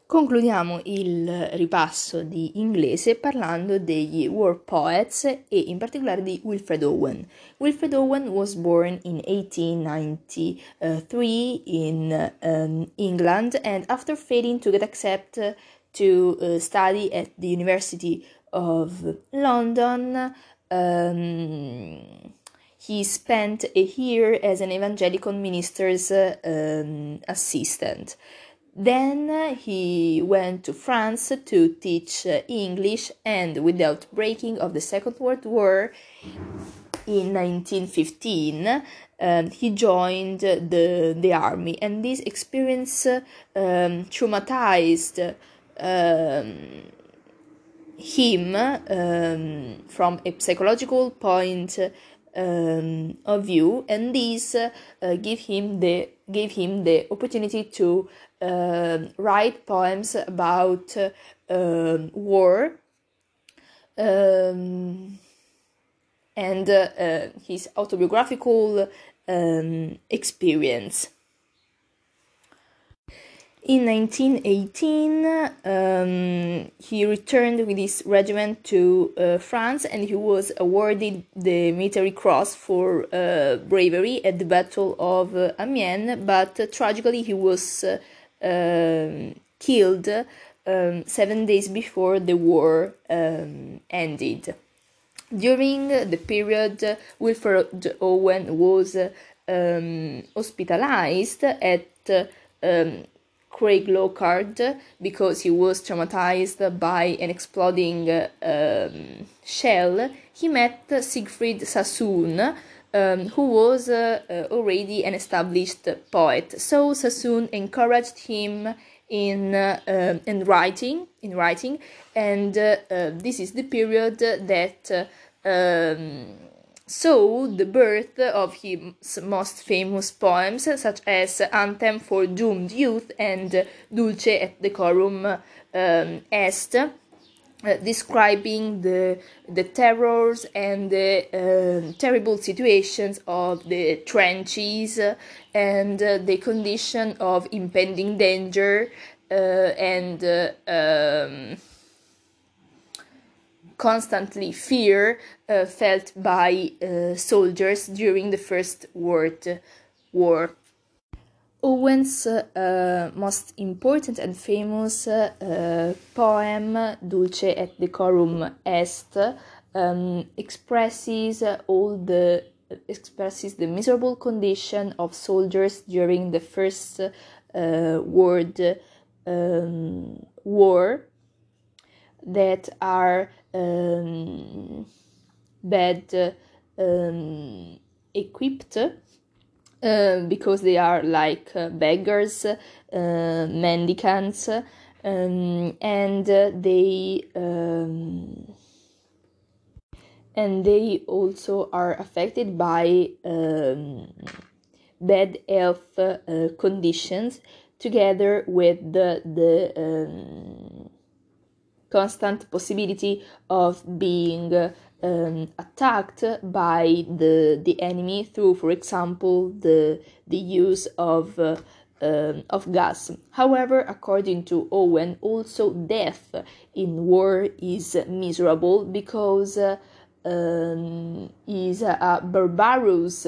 Concludiamo il ripasso di inglese parlando degli war poets e in particolare di Wilfred Owen. Wilfred Owen was born in 1893 in England, and after failing to get accepted to study at the University of London, he spent a year as an evangelical minister's assistant. Then he went to France to teach English, and without breaking of the Second World War, in 1915, he joined the army, and this experience traumatized him from a psychological point of view, and this gave him the opportunity to write poems about war and his autobiographical experience. In 1918, he returned with his regiment to France, and he was awarded the Military Cross for bravery at the Battle of Amiens, but tragically he was killed 7 days before the war ended. During the period, Wilfred Owen was hospitalized at Craig Lockhart because he was traumatized by an exploding shell. He met Siegfried Sassoon, who was already an established poet. So Sassoon encouraged him in writing, and this is the period that saw the birth of his most famous poems, such as Anthem for Doomed Youth and Dulce et Decorum Est, describing the terrors and the terrible situations of the trenches and the condition of impending danger and constantly fear felt by soldiers during the First World War. Owen's most important and famous poem, Dulce et Decorum Est, expresses the miserable condition of soldiers during the First World War, that are bad equipped because they are like beggars, mendicants, and they also are affected by bad health conditions, together with the constant possibility of being attacked by the enemy through, for example, the use of gas. However, according to Owen, also death in war is miserable because is a barbarous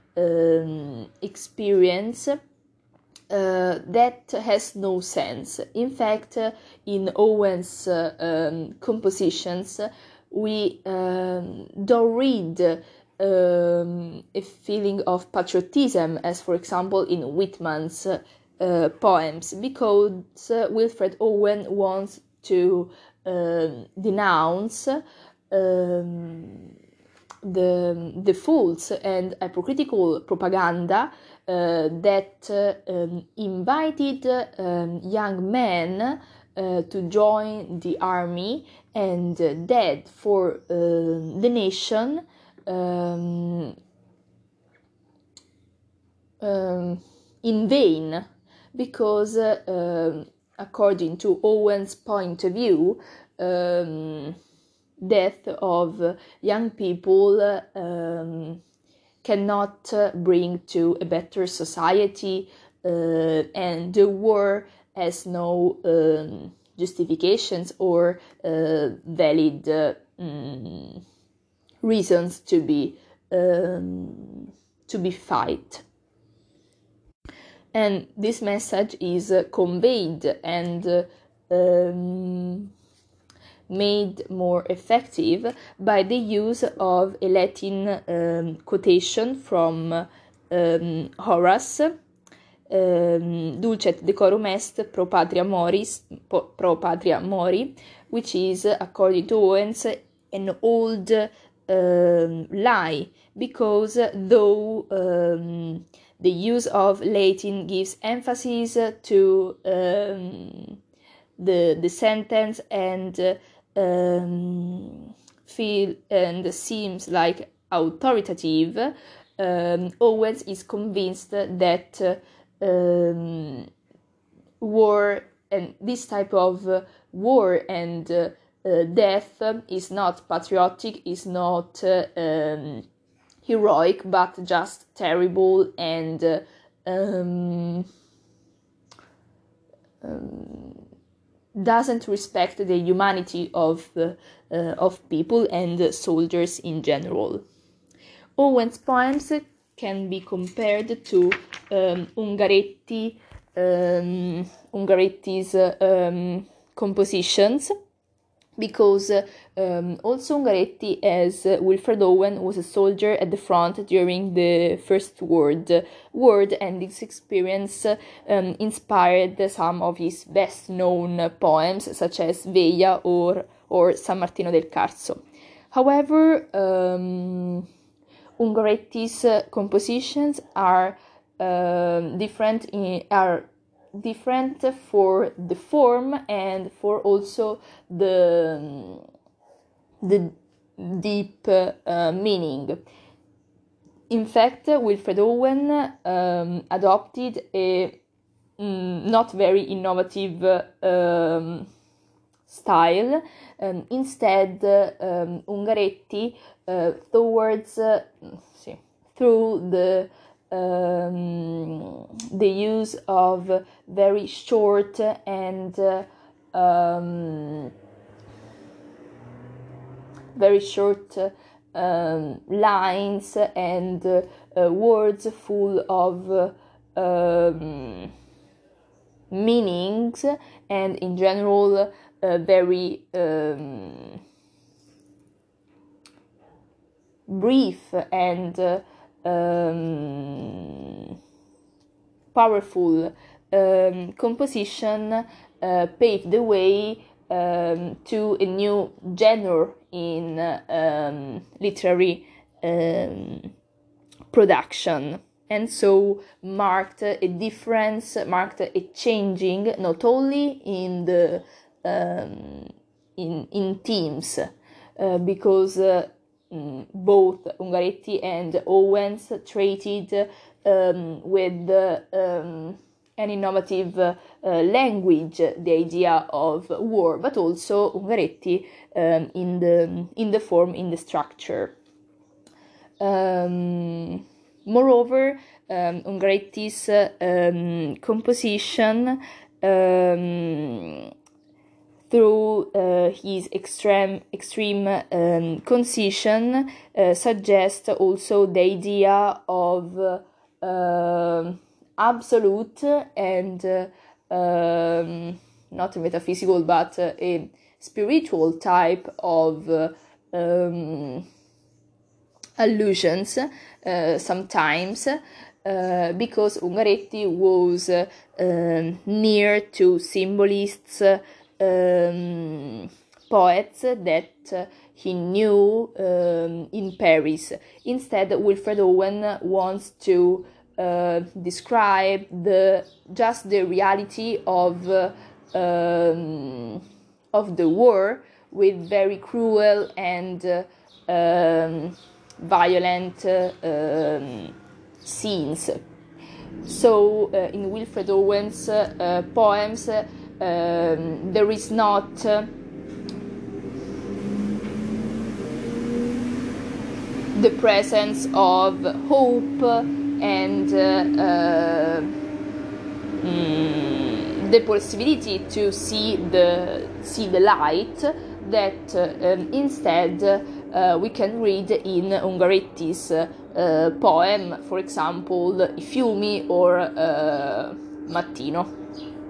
experience that has no sense. In fact, in Owen's compositions, we don't read a feeling of patriotism, as for example in Whitman's poems, because Wilfred Owen wants to denounce the false and hypocritical propaganda that invited young men to join the army and dead for the nation in vain, because according to Owen's point of view, death of young people cannot bring to a better society, and the war has no justifications or valid reasons to be fight. And this message is conveyed and made more effective by the use of a Latin quotation from Horace, Dulcet decorum est pro patria mori, which is, according to Owens, an old lie, because though the use of Latin gives emphasis to the sentence and feel and seems like authoritative, Owens is convinced that war and this type of war and death is not patriotic, is not heroic, but just terrible and doesn't respect the humanity of people and soldiers in general. Owens' poems can be compared to Ungaretti's compositions, because also Ungaretti, as Wilfred Owen, was a soldier at the front during the First World War, and this experience inspired some of his best-known poems, such as Veia or San Martino del Carso. However, Ungaretti's compositions are different for the form and for also the deep meaning. In fact, Wilfred Owen adopted a not very innovative style. Instead, Ungaretti, through the use of very short and lines and words full of meanings, and in general very brief and powerful composition paved the way to a new genre in literary production, and so marked a difference, marked a changing not only in the in themes, because both Ungaretti and Owens treated with an innovative language the idea of war, but also Ungaretti in the form, in the structure. Moreover, Ungaretti's composition, through his extreme concision, suggests also the idea of absolute and not metaphysical but a spiritual type of allusions sometimes, because Ungaretti was near to symbolists, poets that he knew in Paris. Instead, Wilfred Owen wants to describe just the reality of the war with very cruel and violent scenes. So in Wilfred Owen's poems, there is not the presence of hope and the possibility to see the light that instead we can read in Ungaretti's poem, for example, I fiumi or Mattino.